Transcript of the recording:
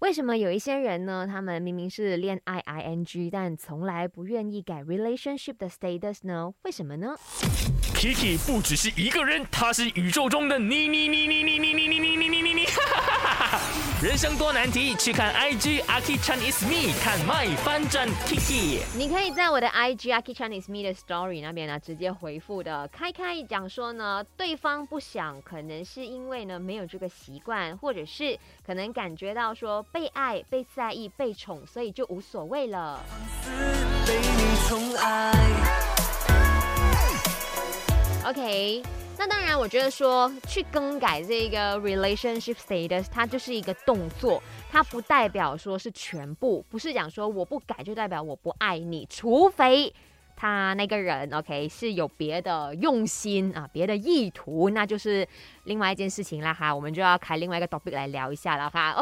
为什么有一些人呢，他们明明是恋爱 ing， 但从来不愿意改 relationship 的 status 呢？为什么呢？ Kiki 不只是一个人，他是宇宙中的你。人生多难题，去看 IG Aki Chan is me， 看 my 翻转 Kiki。 你可以在我的 IG Aki Chan is me 的 story 那边呢，直接回复的。开讲说呢，对方不想，可能是因为呢没有这个习惯，或者是可能感觉到说被爱、被在意、被宠，所以就无所谓了。被你宠爱。OK， 那当然，我觉得说去更改这个 relationship status， 它就是一个动作，它不代表说是全部，不是讲说我不改就代表我不爱你，除非他那个人 OK 是有别的用心啊，别的意图，那就是另外一件事情啦哈，我们就要开另外一个 topic 来聊一下了哈。